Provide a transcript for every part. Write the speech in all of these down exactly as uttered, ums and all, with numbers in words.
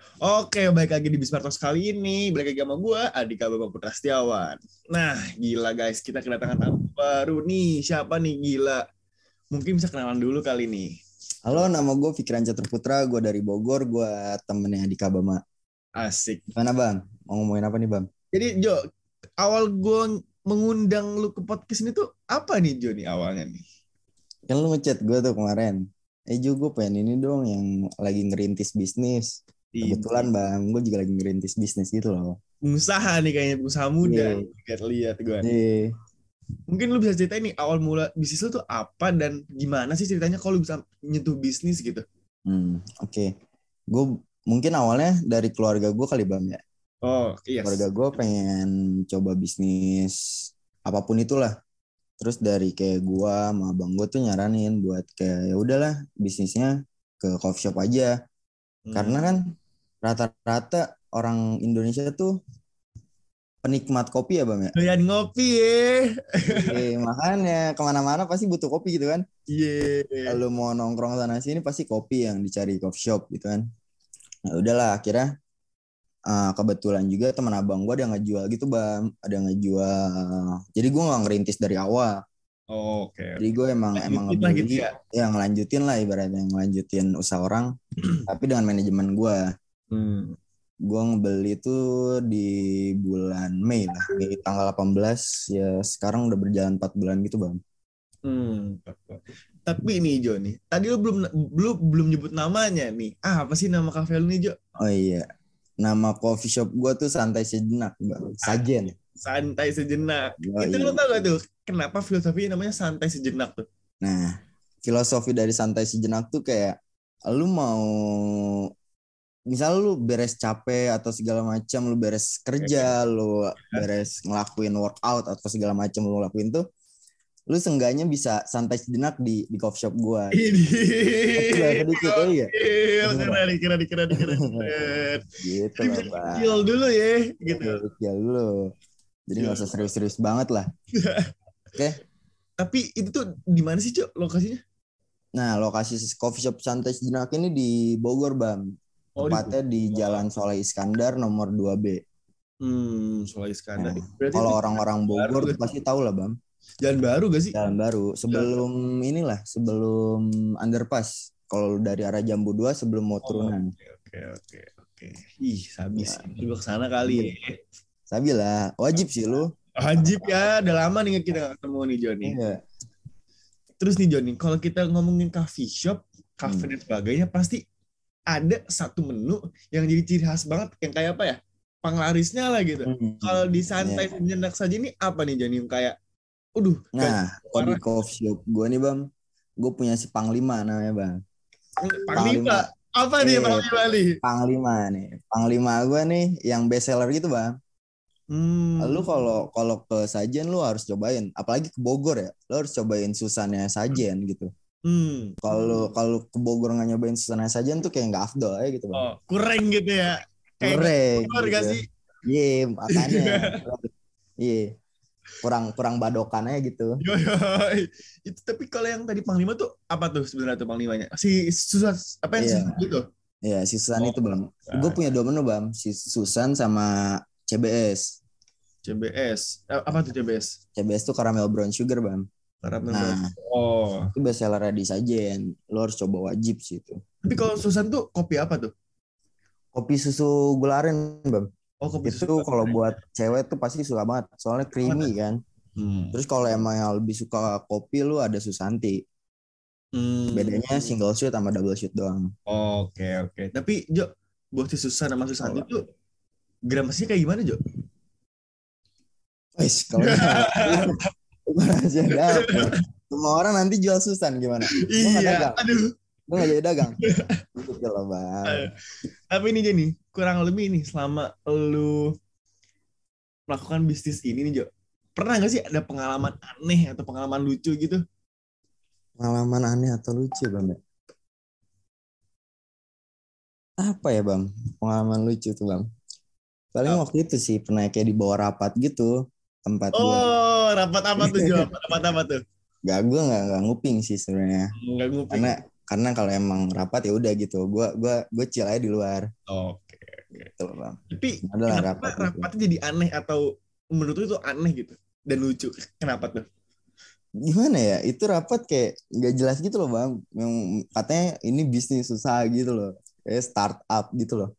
Oke, balik lagi di Bismartos kali ini. Balik lagi sama gue, Andika Bapak Putra Setiawan. Nah, gila guys, kita kedatangan tamu baru nih. Siapa nih gila? Mungkin bisa kenalan dulu kali nih. Halo, nama gue Fikran Caturputra, gue dari Bogor, gue temennya Andika Bama. Asik. Gimana Bang? Mau ngomongin apa nih Bang? Jadi Jo, awal gue mengundang lu ke podcast ini tuh apa nih Jo nih awalnya nih? Kan lu ngechat gue tuh kemarin. Eh Jo, gue pengen ini dong yang lagi ngerintis bisnis. Kebetulan Bang, gue juga lagi ngerintis bisnis gitu loh. Pengusaha nih kayaknya, pengusaha muda. Iya. Lihat-lihat gue. Iya. Mungkin lu bisa ceritain nih awal mula bisnis lu tuh apa dan gimana sih ceritanya kalau lu bisa nyentuh bisnis gitu? Hmm, oke. Okay. Gue mungkin awalnya dari keluarga gue kali Bang ya. Oh, iya. Yes. Keluarga gue pengen coba bisnis apapun itulah. Terus dari kayak gue sama abang gue tuh nyaranin buat kayak ya udahlah bisnisnya ke coffee shop aja. Hmm. Karena kan rata-rata orang Indonesia tuh penikmat kopi ya Bang ya. Doyan ngopi ya. Oke, makanya kemana-mana pasti butuh kopi gitu kan. Iya. Yeah. Kalau mau nongkrong sana sini pasti kopi yang dicari coffee shop gitu kan. Nah udahlah akhirnya uh, kebetulan juga teman abang gue ada yang ngejual gitu Bang. Ada yang ngejual. Jadi gue gak ngerintis dari awal. Oh, oke. Okay. Jadi gue emang lanjutin emang ngebeli gitu ya? Ya ngelanjutin lah ibaratnya ngelanjutin usaha orang tapi dengan manajemen gue. Hmm. Gue ngebeli itu di bulan Mei lah, Mei tanggal delapan belas ya sekarang udah berjalan empat bulan gitu Bang. Hmm. Tapi nih Jo nih, tadi lu belum belum belum nyebut namanya nih. Ah, apa sih nama kafe lu nih Jo? Oh iya, nama coffee shop gue tuh Santai Sejenak Bang, Sajen. Santai Sejenak. Oh, itu iya. Lu tau gak tuh kenapa filosofinya namanya Santai Sejenak tuh? Nah, filosofi dari Santai Sejenak tuh kayak lu mau misal lu beres capek atau segala macam, lu beres kerja, lu beres ngelakuin workout atau segala macam lu lakuin tuh, lu seenggaknya bisa santai sejenak di di coffee shop gua. Ini. Sedikit oh iya. Keren, keren, keren, keren. Gitu lah, bisa kecil dulu ya, gitu. Kecil dulu. Jadi nggak usah serius-serius banget lah. Oke. Okay. Tapi itu tuh di mana sih Cok lokasinya? Nah lokasi coffee shop santai sejenak ini di Bogor Bang. Oh, tepatnya di, di Jalan Soleh Iskandar nomor dua B. Hmm, Soleh Iskandar. Nah, kalau orang-orang Bogor pasti tahu lah, Bang. Jalan baru gak sih? Jalan baru. Sebelum Jalan. inilah, sebelum underpass. Kalau dari arah Jambu dua sebelum mau turunan. Oke, oke, oke, oke. Ih, sabi sih. Lu kesana kali ya. Sabi lah. Wajib sih lu. Wajib ya. Udah lama nih kita ketemu nih, Johnny. Iya. Terus nih, Johnny, kalau kita ngomongin coffee shop, cafe hmm. dan sebagainya, pasti ada satu menu yang jadi ciri khas banget yang kayak apa ya penglarisnya lah gitu. Hmm. Kalau di Santai yeah. Sejenak saja ini apa nih Jani yang kayak, udah. Nah, kalau di coffee shop gue nih Bang, gue punya si Panglima namanya Bang. Panglima, Panglima. Apa eh, nih Panglima nih? Panglima nih, Panglima gue nih yang best seller gitu Bang. Hmm. Lu kalau kalau ke Sajen lu harus cobain, apalagi ke Bogor ya, lu harus cobain Susannya Sajen gitu. Hmm. Kalau kalau ke Bogor nggak nyobain Susana Sajen tuh kayak nggak afdol ya gitu Bang. Oh, kurang gitu ya. Kurang. Gitu. Gak sih? Iya, yeah, makanya. Iya. yeah. Kurang kurang badokannya gitu. Yo, yo. Itu tapi kalau yang tadi Panglima tuh apa tuh sebenarnya tuh Panglimanya? Si Susan apa yang yeah. si itu? Iya, yeah, si Susan oh, itu Bang. Nah. Gue punya dua menu Bang, si Susan sama C B S. C B S. Apa tuh C B S? C B S tuh caramel brown sugar Bang. Nah, oh. Itu best seller di Sajen. Lo harus coba wajib sih itu. Tapi kalau Susan tuh kopi apa tuh? Kopi susu gula aren, Bang. Oh, kopi itu kalau buat cewek tuh pasti suka banget. Soalnya creamy kan. Hmm. Terus kalau emang yang lebih suka kopi lu ada Susanti. Hmm. Bedanya single shoot sama double shoot doang. Oke, okay, oke. Okay. Tapi Jo, buat si Susan sama Susanti oh. tuh gramasinya kayak gimana, Jo? Wes, kalau rahasia dapur. Semua orang nanti jual Susan gimana? Iya. Aduh. Gue gak jadi dagang. Gitu loh Bang. Tapi ini Jenny, kurang lebih nih selama lu melakukan bisnis ini nih Jo, pernah gak sih ada pengalaman aneh atau pengalaman lucu gitu? Pengalaman aneh atau lucu Bang? Apa ya Bang? Pengalaman lucu tuh Bang. Paling oh. waktu itu sih pernah kayak di bawah rapat gitu. Tempat oh, gua. Rapat apa tuh Jo? Rapat apa tuh? Gak, gue gak, gak nguping sih sebenarnya. Gak nguping. Karena karena kalau emang rapat ya udah gitu. Gue gue gue chill aja di luar. Oke. gitu loh bang. Tapi Adalah kenapa rapat rapatnya jadi aneh atau menurut lu itu aneh gitu dan lucu? Kenapa tuh? Gimana ya, itu rapat kayak nggak jelas gitu loh bang, yang katanya ini bisnis susah gitu loh, kayak startup gitu loh.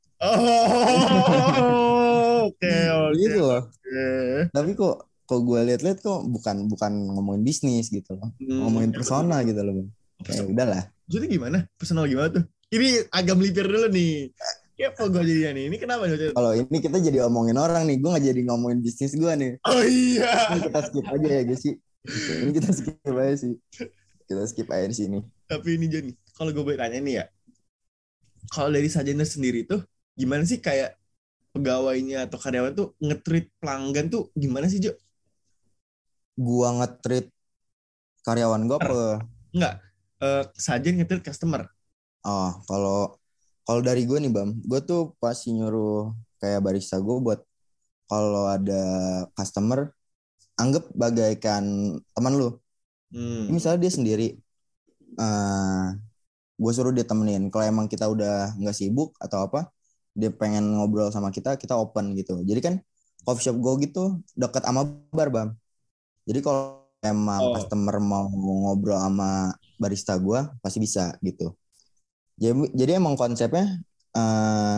Oh, oke oke Gitu loh. oke. Tapi kok kok gue lihat-lihat kok bukan bukan ngomongin bisnis gitu loh, Hmm, ngomongin ya betul persona betul. gitu loh bang. Oh, Kayak personal. udahlah. Maksudnya gimana? Personal gimana tuh? Ini agak melipir dulu nih. Kepo gue jadinya nih. Ini kenapa nih? Kalau ini kita jadi omongin orang nih, gue nggak jadi ngomongin bisnis gue nih. Oh Ini iya. kita skip aja ya guys sih. Ini kita skip aja sih. Kita skip aja di sini. Tapi ini Joni, kalau gue boleh tanya nih ya, kalau dari Sajana sendiri tuh gimana sih kayak pegawainya atau karyawan tuh nge-treat pelanggan tuh gimana sih Jo? Gua nge-treat karyawan gue apa? Enggak, eh Sajen nge-treat customer. Oh, kalau kalau dari gue nih Bam, gue tuh pasti nyuruh kayak barista gue buat kalau ada customer anggap bagaikan teman lu. Hmm. Misalnya dia sendiri, uh, gue suruh dia temenin. Kalau emang kita udah nggak sibuk atau apa, dia pengen ngobrol sama kita, kita open gitu. Jadi kan coffee shop gue gitu dekat sama bar Bam. Jadi kalau emang Oh, customer mau ngobrol sama barista gue, pasti bisa gitu. Jadi, jadi emang konsepnya uh,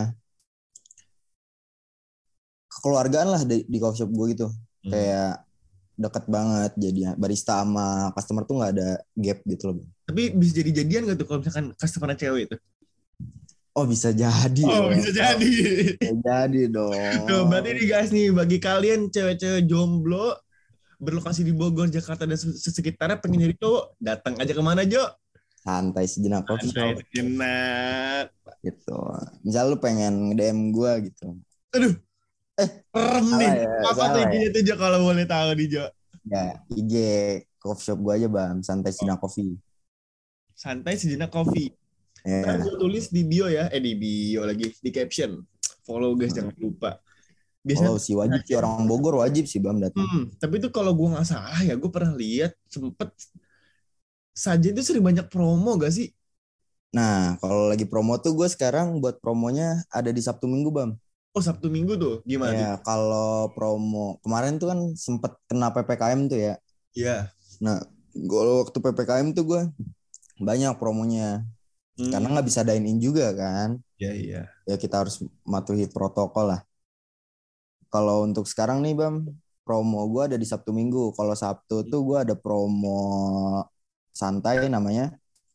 kekeluargaan lah di, di coffee shop gue gitu. hmm. Kayak deket banget jadinya. Barista sama customer tuh nggak ada gap gitu loh. Tapi bisa jadi jadian gak tuh kalau misalkan customer cewek itu? Oh bisa jadi Oh, loh. bisa jadi. Bisa jadi Tuh, berarti dong. nih guys nih, bagi kalian cewek-cewek jomblo berlokasi di Bogor, Jakarta, dan sekitarnya pengen nyari cowok, datang aja kemana Jo? Santai sejenak coffee Santai shop sejenak. gitu. Misal lu pengen nge-D M gue gitu. Aduh, Eh serem nih. salah ya, Apa tuh salah ya. I G-nya tuh Jo kalau boleh tahu nih Jo? Ya I G coffee shop gue aja bang. Santai sejenak coffee. Santai sejenak coffee. Ntar gue Ya. tulis di bio ya, eh di bio lagi, di caption. Follow guys, jangan lupa. Biasanya Kalau tuh si wajib sih orang Bogor wajib sih bang datang. Hmm, tapi itu kalau gue nggak salah ya, gue pernah lihat sempet Sajen itu sering banyak promo gak sih? Nah kalau lagi promo tuh gue sekarang buat promonya ada di Sabtu Minggu bang. Oh Sabtu Minggu tuh, gimana tuh? Ya, kalau promo kemarin tuh kan sempet kena P P K M tuh ya. Iya. Nah, kalau waktu P P K M tuh gue banyak promonya. Karena Hmm, nggak bisa dine in juga kan. iya iya. Ya kita harus mematuhi protokol lah. Kalau untuk sekarang nih Bam, promo gue ada di Sabtu Minggu. Kalau Sabtu tuh gue ada promo santai namanya.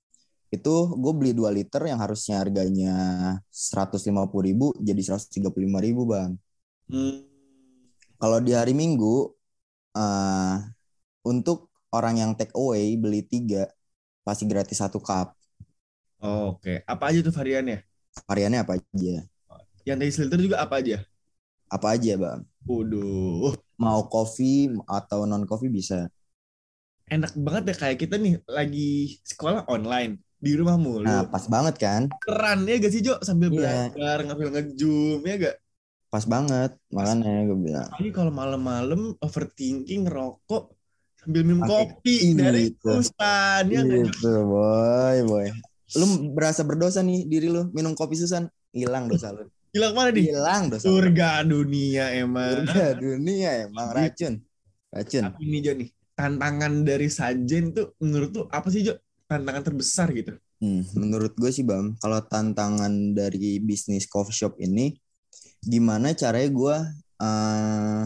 Itu gue beli dua liter yang harusnya harganya seratus lima puluh ribu jadi seratus tiga puluh lima ribu Bang. Hmm, Kalau di hari Minggu, uh, untuk orang yang take away beli tiga, pasti gratis satu cup. oh, oke. Apa aja tuh variannya? Variannya apa aja? Yang dari filter juga apa aja? Apa aja, Bang? Waduh, Mau coffee atau non coffee bisa. enak banget ya kayak kita nih lagi sekolah online di rumah Nah, mulu. pas banget kan? Keren ya gak sih Jo sambil Iya, belajar ngambil ngezoom ya gak? pas banget. Pas. Makanya gue bilang. Apalagi kalau malam-malam overthinking ngerokok sambil minum Pakai kopi dari itu. Susan ya nggak Jo? Itu, boy, boy. Lu berasa berdosa nih diri lu minum kopi Susan, hilang dosa lu. Bilang mana nih? Hilang dosa lu. Surga dunia emang. Surga dunia emang racun. Racun. Tapi nih Jo nih, tantangan dari Sajen tuh menurut tuh apa sih Jo? Tantangan terbesar gitu. Hmm, menurut gue sih Bam, kalau tantangan dari bisnis coffee shop ini, gimana caranya gue uh,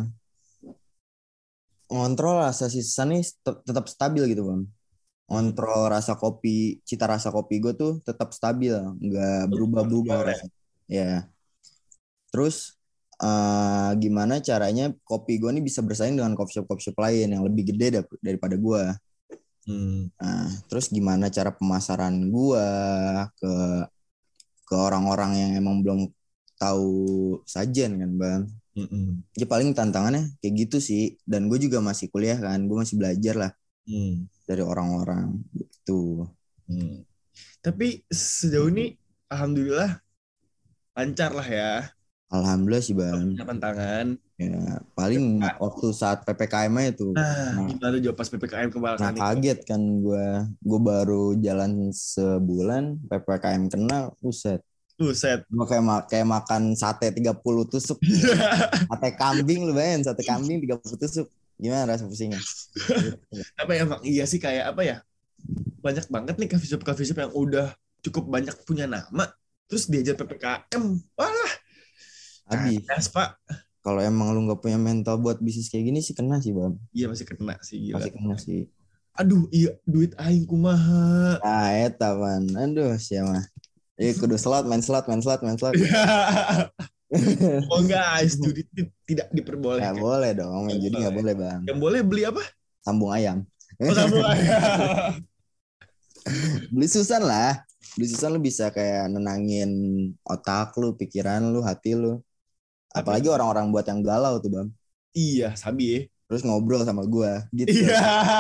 ngontrol rasa sisa nih tet- tetap stabil gitu Bam. Hmm. Ngontrol rasa kopi, cita rasa kopi gue tuh tetap stabil, nggak berubah-berubah Boleh. rasanya. Ya, terus uh, gimana caranya kopi gue nih bisa bersaing dengan coffee shop coffee shop lain yang lebih gede dar- daripada gue. Hmm. Nah, terus gimana cara pemasaran gue ke ke orang-orang yang emang belum tahu Sajen kan bang. Hmm. Jadi paling tantangannya kayak gitu sih. Dan gue juga masih kuliah kan, gue masih belajar lah Hmm. dari orang-orang gitu. Hmm. Tapi sejauh ini alhamdulillah lancar lah ya. Alhamdulillah sih bang. Punya tantangan. Ya, paling waktu saat P P K M aja tuh. Nah, Nah, gimana Jo pas P P K M nah kebalakan itu? kaget kan gue. Gue baru jalan sebulan, P P K M kena, buset. Buset. Mau kayak, ma- kayak makan sate tiga puluh tusuk. Sate kambing lu bayangin, sate kambing tiga puluh tusuk. Gimana rasa pusingnya? Apa ya, emang iya sih, kayak apa ya? Banyak banget nih coffee shop coffee shop yang udah cukup banyak punya nama, terus diajar P P K M. Wah, Habis. kandas, Pak. Kalau emang lu nggak punya mental buat bisnis kayak gini sih kena sih bang. Iya masih kena sih, gila. Masih kena sih. Aduh, iya duit aing kumaha. Ah, eta man. Aduh, siapa? Eh, kudu slot, main slot, main slot, main slot. Oh guys, judi ti- tidak Gak diperbolehkan. boleh dong, main judi gak boleh bang. Yang boleh beli apa? Sambung ayam. Oh, sambung ayam. Beli Susan lah. Beli Susan lu bisa kayak nenangin otak lu, pikiran lu, hati lu. Apalagi orang-orang buat yang galau tuh bang. Iya, sabi ya. Terus ngobrol sama gua gitu. Iya.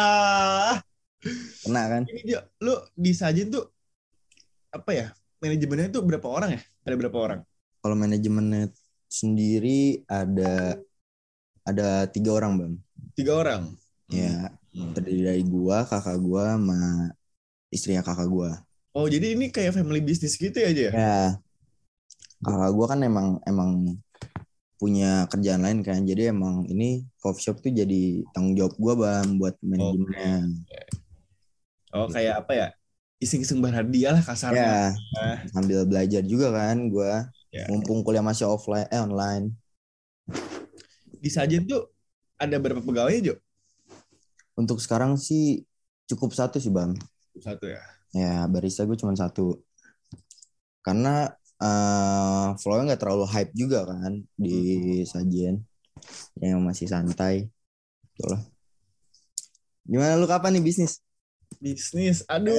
Kena kan? Ini dia, lu disajin tuh apa ya? Manajemennya tuh berapa orang ya? Ada berapa orang? Kalau manajemennya sendiri ada ada tiga orang bang. Tiga orang. Ya, Hmm. terdiri dari gua, kakak gua, sama istrinya kakak gua. Oh, jadi ini kayak family business gitu ya aja ya? Ya, kakak gua kan emang emang punya kerjaan lain kan, jadi emang ini coffee shop tuh jadi tanggung jawab gua bang buat manajemennya. Oh, kayak apa ya? Iseng-iseng berhadiah lah kasarnya. Ya, sambil belajar juga kan gua, Ya. mumpung kuliah masih offline, eh online. Di Sajen tuh ada berapa pegawai, Jo? Untuk sekarang sih cukup satu sih bang. Satu ya. Ya, barista gue cuma satu. Karena uh, flow-nya nggak terlalu hype juga kan di Sajen, yang masih santai. Betul lah. Gimana lu kapan nih bisnis? Bisnis,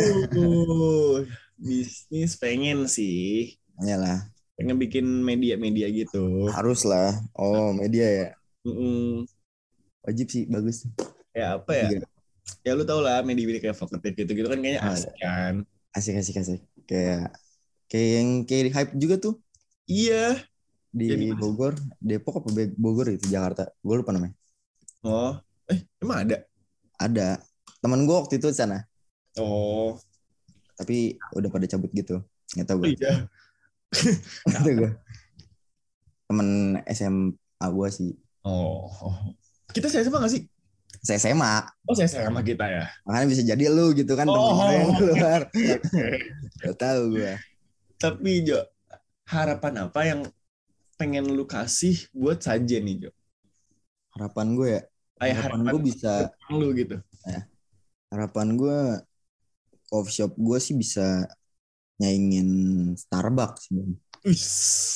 aduh, bisnis pengen sih. Iyalah, Pengen bikin media-media gitu. harus lah. Oh, media ya. Mm-mm. Wajib sih, bagus. Ya apa ya? Iya. Ya lu tau lah media-media kayak Vokatif gitu-gitu kan kayaknya Ah, asik kan. Asik, asik, asik. Kayak kayak yang kayak hype juga tuh Iya. di Jadi- Bogor, Depok apa Be- Bogor itu Jakarta. Gue lupa namanya. Oh, eh emang ada? Ada. Temen gue waktu itu di sana, Oh, tapi udah pada cabut gitu. Nggak tahu oh gue. iya. Nggak tahu gue. Temen S M A gue sih. Oh, kita saya sama gak sih? Saya S M A. Oh, saya sama kita ya. Makanya bisa jadi lu gitu kan, temen Oh. gue yang keluar. Gak tahu gue. Tapi Jo, harapan apa yang pengen lu kasih buat Sajen nih Jo? Harapan gue ya. Kayak Harapan harapan gue bisa. lu gitu. Harapan gue coffee shop gue sih bisa nyaingin Starbucks sih bang. Uish.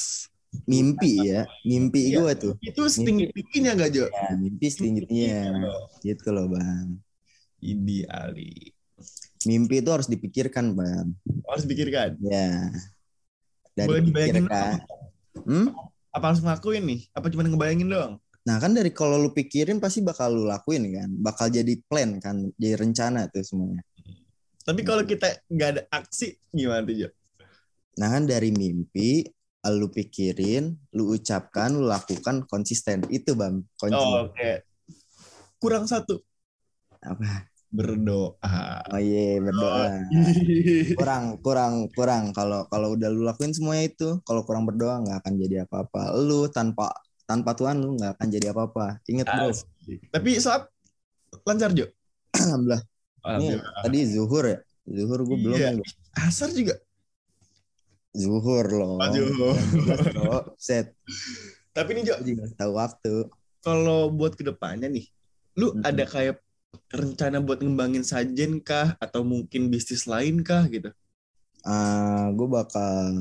Mimpi ya, mimpi Iya. gue tuh. Itu setinggi tingginya gak Jo? Ya, mimpi setingginya. Gitu loh bang. Idi Ali. Mimpi itu harus dipikirkan bang. Harus pikirkan. Ya. Dari Boleh dibayangin pikirkan. Hmm? Apa harus ngelakuin nih? Apa cuma ngebayangin doang? Nah kan dari kalau lu pikirin pasti bakal lu lakuin kan. Bakal jadi plan kan. Jadi rencana tuh semuanya. Tapi kalau kita nggak ada aksi, gimana tuh Jo? Nah kan dari mimpi, lu pikirin, lu ucapkan, lu lakukan konsisten. Itu bang, kunci. Oh, oke. Kurang satu. Apa? Berdoa. Oh iya, berdoa. Kurang, kurang, kurang. Kalau kalau udah lu lakuin semuanya itu, kalau kurang berdoa nggak akan jadi apa-apa. Lu tanpa tanpa Tuhan lu nggak akan jadi apa-apa. Ingat bro. Tapi saat lancar Jo? Alhamdulillah. Ini Alhamdulillah. tadi zuhur ya. Zuhur gue belum. Iya. ya. Asar juga. Zuhur loh. Aduh. Bro, set. Tapi nih Jo, Gue juga tahu waktu. kalau buat kedepannya nih, lu Mm-mm. ada kayak rencana buat ngembangin Sajen kah? Atau mungkin bisnis lain kah gitu? Uh, gue bakal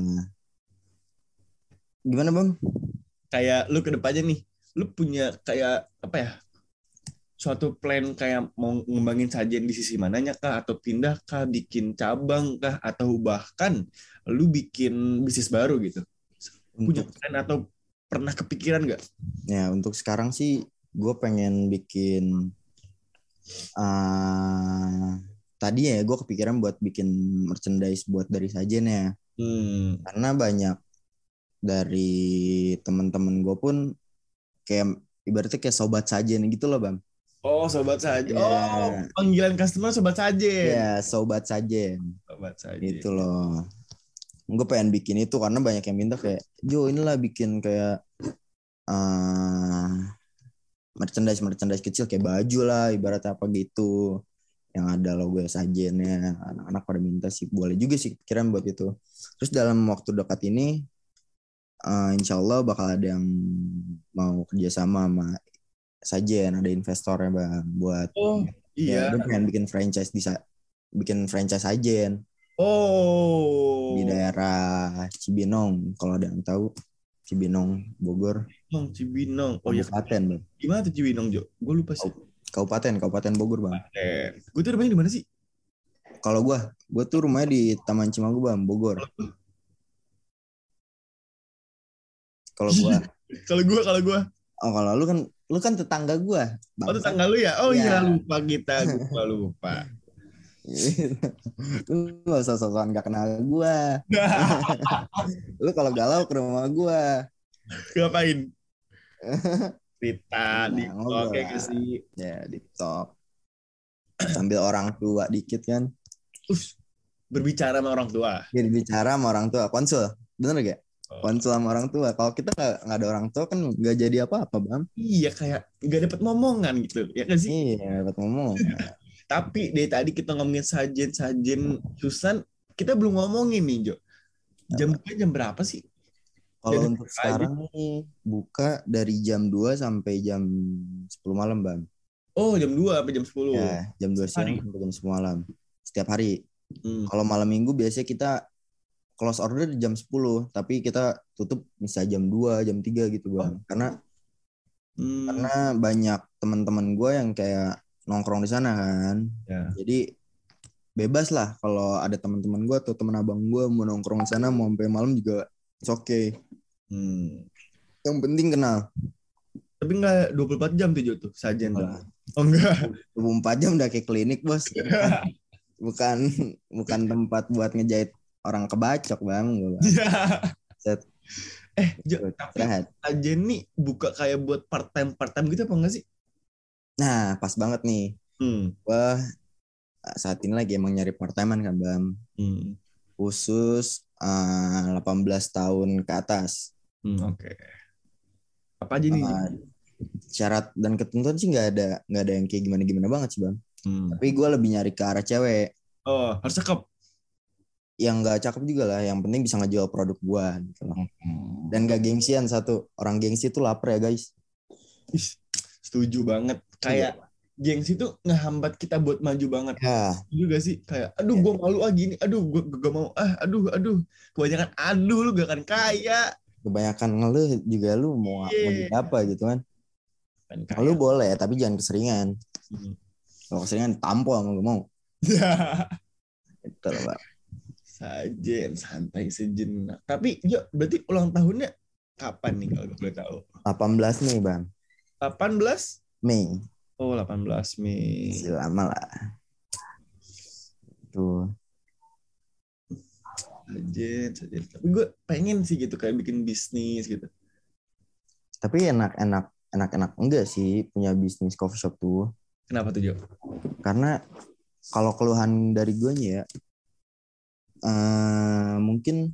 gimana bang? Kayak lu kedepannya nih, lu punya kayak apa ya? Suatu plan kayak mau ngembangin Sajen di sisi mananya kah? Atau pindah kah? Bikin cabang kah? Atau bahkan lu bikin bisnis baru gitu? Punya Untuk plan atau pernah kepikiran nggak? ya untuk sekarang sih gue pengen bikin uh, tadi ya gue kepikiran buat bikin merchandise buat dari Sajen ya. Hmm. Karena banyak dari teman-teman gue pun kayak ibaratnya kayak sobat Sajen gitu loh bang. Oh, sobat Sajen. Ya. Oh, panggilan customer sobat Sajen. Ya sobat Sajen Sobat Sajen. gitu loh. gue pengen bikin itu karena banyak yang minta kayak Jo inilah bikin kayak uh, merchandise merchandise kecil kayak baju lah ibaratnya apa gitu yang ada logo sajennya. Anak-anak pada minta sih, boleh juga sih pikiran buat itu. Terus dalam waktu dekat ini uh, insya Allah bakal ada yang mau kerjasama sama sajen, ada investornya bang buat Oh ya iya. dia pengen bikin franchise bisa bikin franchise sajen di Oh. daerah Cibinong, kalau ada yang tahu Cibinong Bogor Bang Cibinong. Oh ya. kabupaten bang. Gimana tuh Cibinong Jo? Gue lupa sih. Kabupaten Kabupaten Bogor bang. Eh, gue tuh rumahnya di mana sih? Kalau gue gue tuh rumahnya di Taman Cimagu bang Bogor. Kalau gue Kalau gue, kalau gue. oh kalau lu kan lu kan tetangga gue bang. Oh tetangga lu ya? Oh iya ya. lupa kita, gue lupa. Lu gak usah sosokan gak kenal gue. Lu kalau galau ke rumah gue. Ngapain? Cerita di Nah, TikTok ya ngobrol gak sih? ya di TikTok sambil orang tua dikit kan. Us, berbicara sama orang tua. Jadi bicara sama orang tua konsul bener gak? Oh. Konsul sama orang tua. Kalau kita nggak nggak ada orang tua kan nggak jadi apa-apa bang. Iya kayak nggak dapat momongan gitu ya kan sih? Iya dapat ngomong. Tapi dari tadi kita ngomongin sajen-sajen Susan, kita belum ngomongin nih Jo. Jam buka jam berapa sih? Kalau Dan untuk sekarang nih buka dari jam dua sampai jam sepuluh malam bang. Oh jam dua sampai jam sepuluh. Ya jam dua siang Hari. sampai jam sepuluh malam setiap hari. Hmm. Kalau malam minggu biasanya kita close order di jam sepuluh, tapi kita tutup misalnya jam dua, jam tiga gitu bang. Oh. Karena Hmm. karena banyak teman-teman gue yang kayak nongkrong di sana kan. Ya. Jadi bebas lah kalau ada teman-teman gue atau teman abang gue mau nongkrong di sana mau sampai malam juga it's okay. Hmm. Yang penting kenal. Tapi nggak dua puluh empat jam tuh Jo tuh sajen tuh. Nah, Oh enggak. dua puluh empat jam udah kayak klinik bos. Bukan bukan tempat buat ngejahit orang kebacok bang. Set. Eh Jo, tapi Istirahat. sajen nih buka kayak buat part time part time gitu apa enggak sih? Nah pas banget nih. Hmm. Wah saat ini lagi emang nyari part time kan bang. Hmm. Khusus uh, delapan belas tahun ke atas. Hmm, Oke. Okay. Apa aja nih? Uh, syarat dan ketentuan sih nggak ada nggak ada yang kayak gimana gimana banget sih bang. Hmm. Tapi gue lebih nyari ke arah cewek. Oh harus cakep. Yang nggak cakep juga lah. Yang penting bisa ngejual produk gue. Gitu loh. Hmm. Dan gak gengsian satu. Orang gengsi itu lapar ya guys. Setuju banget. Kayak gengsi itu ngehambat kita buat maju banget. Ya. Juga sih kayak aduh gue malu ah gini, aduh gue gak mau ah, aduh aduh kebanyakan aduh lu gak akan kaya. Kebanyakan ngeluh juga lu mau Yeah. mau jadi apa gitu kan. Kan Ngeluh boleh tapi jangan keseringan. Hmm. Kalau keseringan tampol sama gue mau. Itu loh Pak. Sajen santai sejenak. Tapi yo berarti ulang tahunnya kapan nih kalau gue boleh tahu? delapan belas nih bang. delapan belas Mei. Oh delapan belas Mei. Masih lama lah. Tuh. Sajen, sajen. Tapi gue pengen sih gitu kayak bikin bisnis gitu. Tapi enak-enak enak-enak enggak sih punya bisnis coffee shop tuh. Kenapa tuh Jo? Karena kalau keluhan dari gue ya uh, mungkin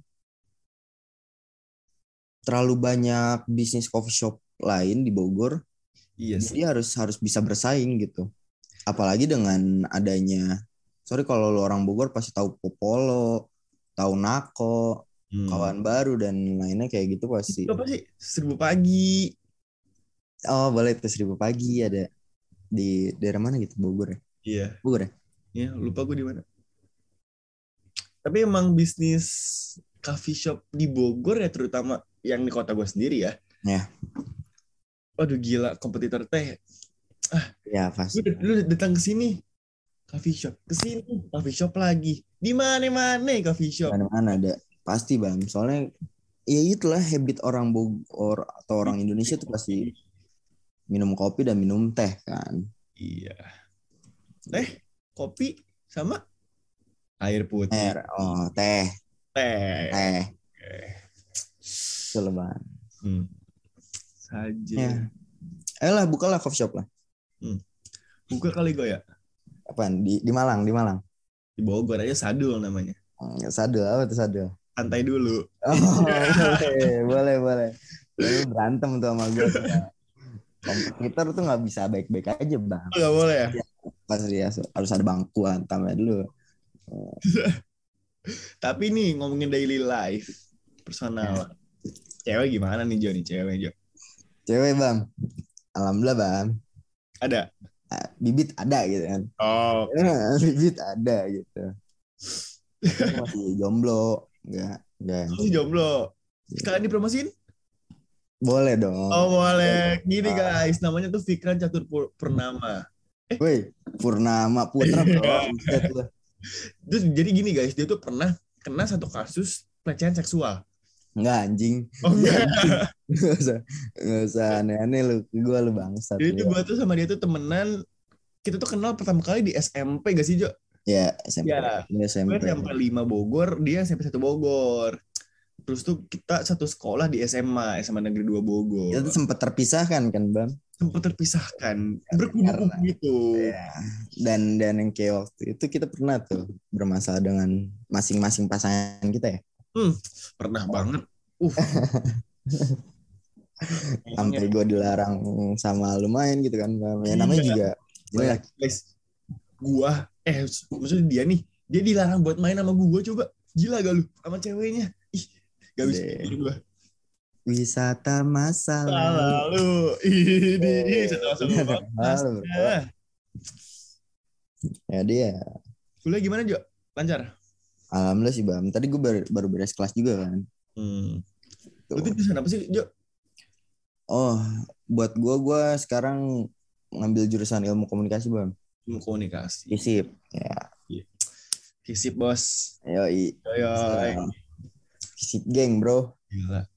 terlalu banyak bisnis coffee shop lain di Bogor. Iya sih. Jadi harus harus bisa bersaing gitu. Apalagi dengan adanya, sorry kalau lu orang Bogor pasti tahu Popolo, tahu Nako, hmm. Kawan Baru dan lainnya kayak gitu pasti. Itu apa sih? Seribu Pagi. Oh boleh tuh Seribu Pagi ada di daerah mana gitu Bogor ya? Iya. Bogor ya? Iya lupa gue di mana. Tapi emang bisnis coffee shop di Bogor ya terutama yang di kota gue sendiri ya. Ya. Waduh gila kompetitor teh. Ah, ya pasti. Lu, lu datang ke sini coffee shop, ke sini coffee shop lagi. Di mana-mana coffee shop. Mana-mana ada. Pasti Bang. Soalnya ya itulah habit orang Bogor atau orang Indonesia tuh pasti minum kopi dan minum teh kan. Iya. Teh, kopi sama air putih. Air, oh, teh. Teh. Teh. Oke. Betul, Bang. Hmm. Saja. Ya. Ayolah bukalah coffee shop lah. Hmm. Buka kali gue ya. Apaan? Di di Malang, di Malang. Di Bogor aja Sadul namanya. Hmm, Sadul apa tuh Sadul? santai dulu. Oh, boleh, boleh, boleh. Lalu berantem tuh sama gue. Kompetitor tuh nggak bisa baik-baik aja bang. Nggak boleh ya? Pas dia harus ada bangku hantamnya dulu. Tapi nih ngomongin daily life, personal. Cewek gimana nih Jo nih cewek Jo? Cewek bang, alhamdulillah bang. Ada? Ah, bibit ada gitu kan. Oh, oke. Ya, bibit ada gitu. Tapi aku masih jomblo. Enggak, enggak. Masih jomblo. Sekalian dipromosiin? Boleh dong. Oh boleh. Gini guys, namanya tuh Fikran Catur Pur- Purnama. Woi, Purnama Putra bro. Buset lu. Terus jadi gini guys, dia tuh pernah kena satu kasus pelecehan seksual. Enggak anjing. Oh enggak. Enggak usah, enggak usah aneh-aneh lu. Gue lu bangsat. Jadi tuh Lu. gue tuh sama dia tuh temenan. Kita tuh kenal pertama kali di S M P gak sih Jo? Ya, S M P. Ya. Ini Gue S M P. S M P lima Bogor, dia S M P satu Bogor. Terus tuh kita satu sekolah di S M A, S M A Negeri dua Kita tuh Bogor. sempat terpisahkan kan, Bang? Sempat terpisahkan, berkubu-kubu Karena gitu. ya. Dan dan yang kayak waktu itu kita pernah tuh bermasalah dengan masing-masing pasangan kita ya. Hmm, pernah banget. Uh, Sampai gue dilarang sama lu main gitu kan. Ya namanya juga Bayangin, jelek. guys, gua eh maksudnya dia nih, dia dilarang buat main sama gua coba. Gila gak lu sama ceweknya? Ih, gak bisa Deh. pikir gua. Wisata masa lalu. Lalu ini setelah Udah lalu, bro. Ya dia. Kuliah gimana Jo? Lancar? Alhamdulillah sih Bam. Tadi gue baru, baru beres kelas juga kan. Hmm. Tuh. Lu tuh jurusan apa sih Jo? Oh, buat gue gue sekarang ngambil jurusan ilmu komunikasi Bam. Ilmu komunikasi. Fisip. Ya. Fisip bos. Yoi. Yoi. Fisip geng bro. Gila.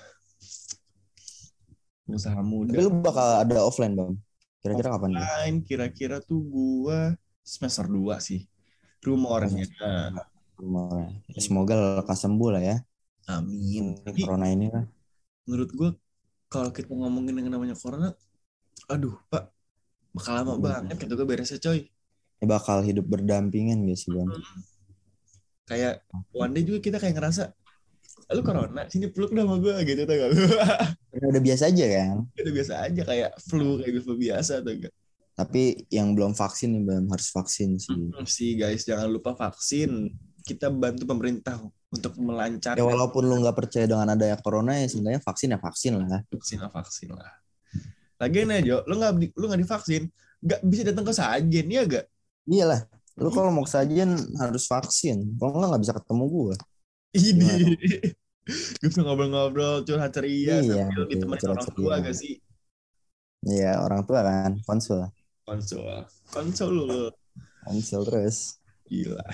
Usaha muda. Tapi lu bakal ada offline Bam. Kira-kira kapan? Offline, kira-kira tuh gua semester dua sih. Rumornya. Rumornya. Semoga lekas sembuh lah ya. Amin. Ini corona ini lah. Menurut gua kalau kita ngomongin yang namanya corona, aduh Pak, bakal lama hmm. banget kata gue beresnya coy. Ini bakal hidup berdampingan gak sih Bang? Hmm. Kayak one day juga kita kayak ngerasa, lu corona, sini peluk dah sama gue gitu tau gak lu? Udah biasa aja kan? Udah biasa aja kayak flu, kayak flu biasa tau gak? Tapi yang belum vaksin nih Bang, harus vaksin sih. Hmm, sih guys, jangan lupa vaksin. Kita bantu pemerintah untuk melancarkan. Ya walaupun lu nggak percaya dengan adanya corona ya sebenarnya vaksin ya vaksin lah. Vaksin lah vaksin lah. Lagian aja Jo, lu nggak lu nggak divaksin, nggak bisa datang ke sajen ya gak? Iyalah, lu kalau mau ke sajen harus vaksin. Kalau nggak nggak bisa ketemu gue. Ini, gue bisa ngobrol-ngobrol curhat ceria iya, sambil ditemenin orang tua gak sih? Iya orang tua kan, konsul. Konsul, konsul lu. Konsul terus. Gila.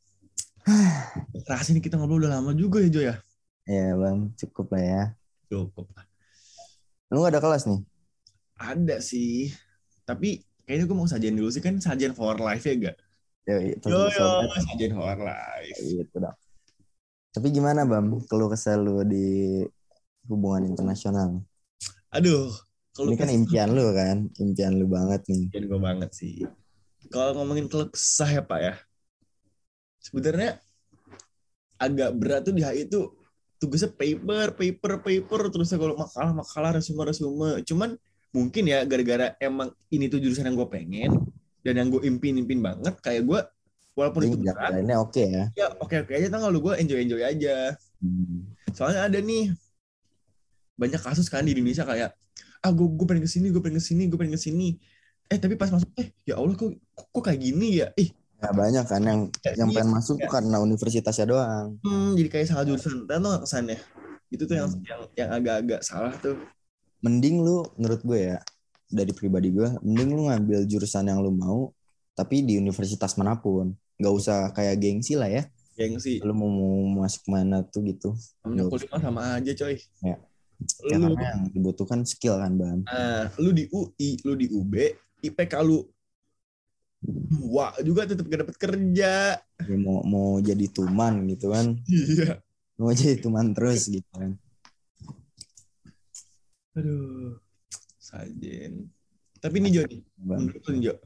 Rasa ini kita ngobrol udah lama juga ya Jo ya? Iya bang, cukup lah ya. Cukup lah. Lu gak ada kelas nih? Ada sih. Tapi kayaknya gue mau sajian dulu sih. Kan sajian for life ya gak? Yo, yo, yo sajian for life. Gitu dong. Tapi gimana Bam, keluh kesah lu di hubungan internasional? Aduh. Ini kan impian lu kan? Impian lu banget nih. Impian gue banget sih. Kalau ngomongin keluh kesah ya Pak ya. Sebenarnya agak berat tuh di H I itu tugasnya paper, paper, paper, terus kalau makalah, makalah, resume, resume. Cuman mungkin ya gara-gara emang ini tuh jurusan yang gue pengen dan yang gue impin-impin banget, kayak gue walaupun ini itu berat, ini oke okay ya. Ya oke-oke aja, tanggal lu gue enjoy-enjoy aja. Hmm. Soalnya ada nih banyak kasus kan di Indonesia kayak ah gue gue pengen kesini, gue pengen kesini, gue pengen kesini. Eh tapi pas masuk eh ya Allah kok kok kayak gini ya? Ih. Ya, banyak kan yang ya, yang pengen masuk ya. Tuh karena universitasnya doang. Hmm, jadi kayak salah jurusan. Tahu nggak kesannya? Itu tuh yang hmm. yang yang agak-agak salah tuh. Mending lu menurut gue ya dari pribadi gue, mending lu ngambil jurusan yang lu mau, tapi di universitas manapun. Gak usah kayak gengsi lah ya. Gengsi. Lu mau, mau masuk mana tuh gitu. Namanya kuliah sama aja coy. Ya. Ya lu, karena yang dibutuhkan skill kan Bang. Nah, lu di U I, lu di U B, I P K lu wah juga tetap gak dapat kerja. Ya, mau mau jadi tuman gitu kan. Iya. Mau jadi tuman terus gitu kan. Aduh. Sajen. Tapi nih Jo nih. Menurut lu Jo.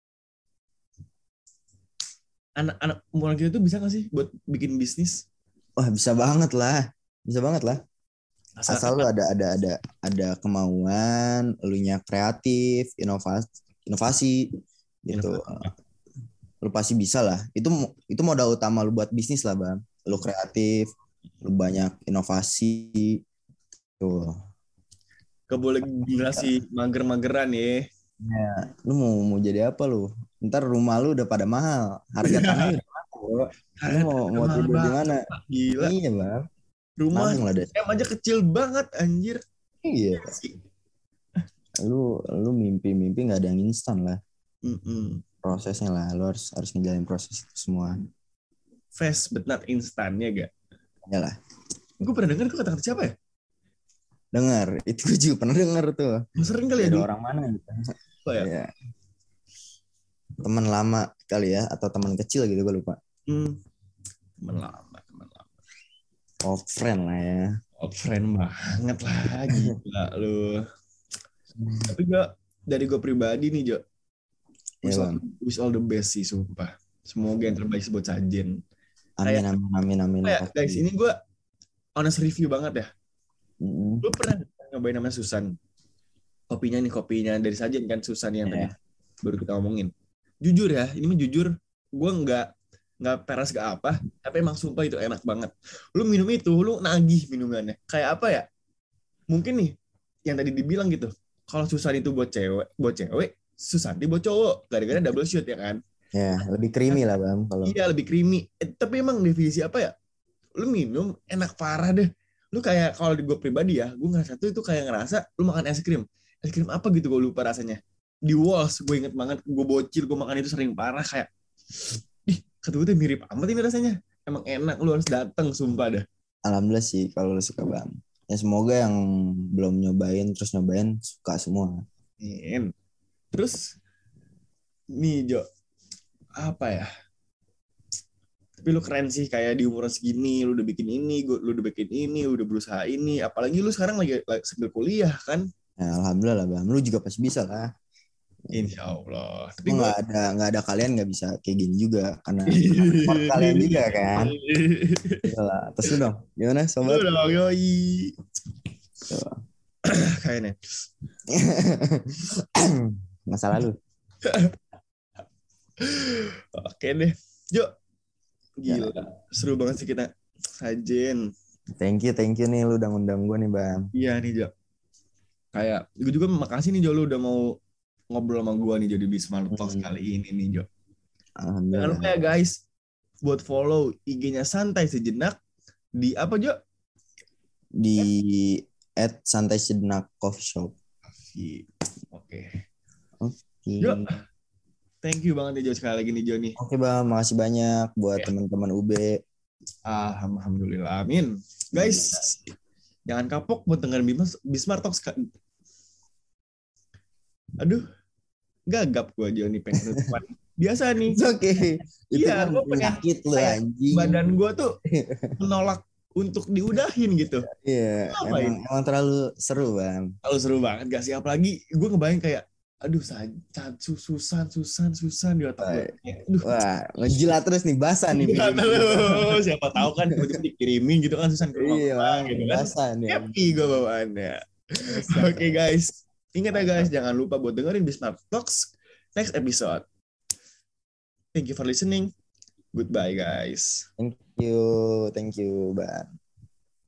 Anak-anak umuran kita tuh bisa gak sih buat bikin bisnis? Wah, bisa banget lah. Bisa banget lah. Asal, Asal lu ada ada ada ada kemauan, elunya kreatif, inovasi, inovasi gitu. Lu pasti bisa lah. Itu itu modal utama lu buat bisnis lah, Bang. Lu kreatif, lu banyak inovasi tuh. gak boleh generasi mager-mageran ya. Ya, lu mau mau jadi apa lu? Ntar rumah lu udah pada mahal, harga tanahnya udah mahal. Lu mau mau Mahal tidur di banget, mana? Pak. Gila. Iya, Bang. Rumah Nabung lah deh. em aja kecil banget anjir. Iya. Lu lu mimpi-mimpi nggak ada yang instan lah. Mm-mm. Prosesnya lah, lu harus harus ngejalanin proses itu semua. Fast but not instannya gak? Ya lah. Gue pernah denger itu kata-kata siapa ya? Dengar, itu gue juga pernah dengar tuh. Sering kali ya Dari dulu. orang mana gitu. Apa ya? Ya. Teman lama kali ya, atau teman kecil gitu gue lupa. Hmm. Temen lama, temen lama. Old friend lah ya. Old friend banget lah, gila lu. Tapi gue, dari gue pribadi nih Jo, wish, Ya, all, Bang. wish all the best sih, sumpah. Semoga yang terbaik buat Sajen. Amin, Kayak, amin, amin, amin. kayak, guys, ini gue honest review banget ya. Mm-hmm. Lu pernah nyobain namanya Susan? Kopinya nih, kopinya dari Sajen kan, Susan yang Yeah. tadi baru kita ngomongin. Jujur ya, ini mah jujur, gue nggak nggak peras gak apa, tapi emang sumpah itu enak banget. Lu minum itu, lu nagih minumannya. Kayak apa ya? Mungkin nih, yang tadi dibilang gitu, kalau Susan itu buat cewek, buat cewek, Susanti buat cowok. Gara-gara double shoot ya kan? Ya, lebih creamy lah, Bang. Kalau Iya, lebih creamy. Eh, tapi emang definisi apa ya? Lu minum enak parah deh. Lu kayak kalau di gue pribadi ya, gue ngerasa tuh itu kayak ngerasa lu makan es krim. Es krim apa gitu gue lupa rasanya. Di Walls, gue inget banget, gue bocil, gue makan itu sering parah kayak, ih, kata gue tuh mirip amat ini rasanya. Emang enak, lu harus datang, sumpah dah. alhamdulillah sih kalau lu suka, Bang. Ya semoga yang belum nyobain terus nyobain suka semua. Amin. Terus, nih Jo, apa ya? Tapi lu keren sih, kayak di umuran segini, lu udah bikin ini, lu udah bikin ini, lu udah berusaha ini. Apalagi lu sekarang lagi, lagi sambil kuliah kan? Ya, alhamdulillah lah, Bang. Lu juga pasti bisa lah. Insya Allah. Tapi nggak gua... ada nggak ada kalian nggak bisa kayak gini juga karena support kalian juga kan. Yalah, terus lu dong, gimana sobat? Lu dong, yoi. Kayaknya. Masa lalu. Oke deh. Jo, gila. Seru banget sih kita Sajen. Thank you, thank you nih lu udah ngundang gue nih, Bang. Iya nih Jo. Kayak, gue juga makasih nih Jo, lu udah mau ngobrol sama gue nih Jo di Bismart Talks hmm. kali ini nih Jo. Jangan lupa ya guys, buat follow I G-nya Santai Sejenak di apa Jo? Di at Santai Sejenak Coffee Shop. Oke. Oke. Okay. Jo, thank you banget nih Jo sekali lagi nih Jo nih. Oke okay, Bang, makasih banyak buat okay. teman-teman U B. Alhamdulillah, amin. Guys, ya. Jangan kapok buat dengerin Bismart Talks. Aduh, gagap gue aja nih pengen nutupan. Biasa nih. Oke. Okay. Iya, gue pengen lu, anjing. Badan gue tuh menolak untuk diudahin gitu. Iya, yeah, emang, emang terlalu seru, Bang. Terlalu seru banget gak sih? Apalagi gue ngebayang kayak, aduh, susan, susan, susan di otak gue. Aduh. Wah, ngejilat terus nih, basah nih. Terus, siapa tahu kan tiba-tiba dikirimin gitu kan susan ke rumah. Iya, bang, gitu kan. Basah nih. Happy gue bawaannya. Oke okay, guys. Ingat ya guys, jangan lupa buat dengerin Bismart Talks next episode. Thank you for listening. Goodbye guys. Thank you, thank you, Bang.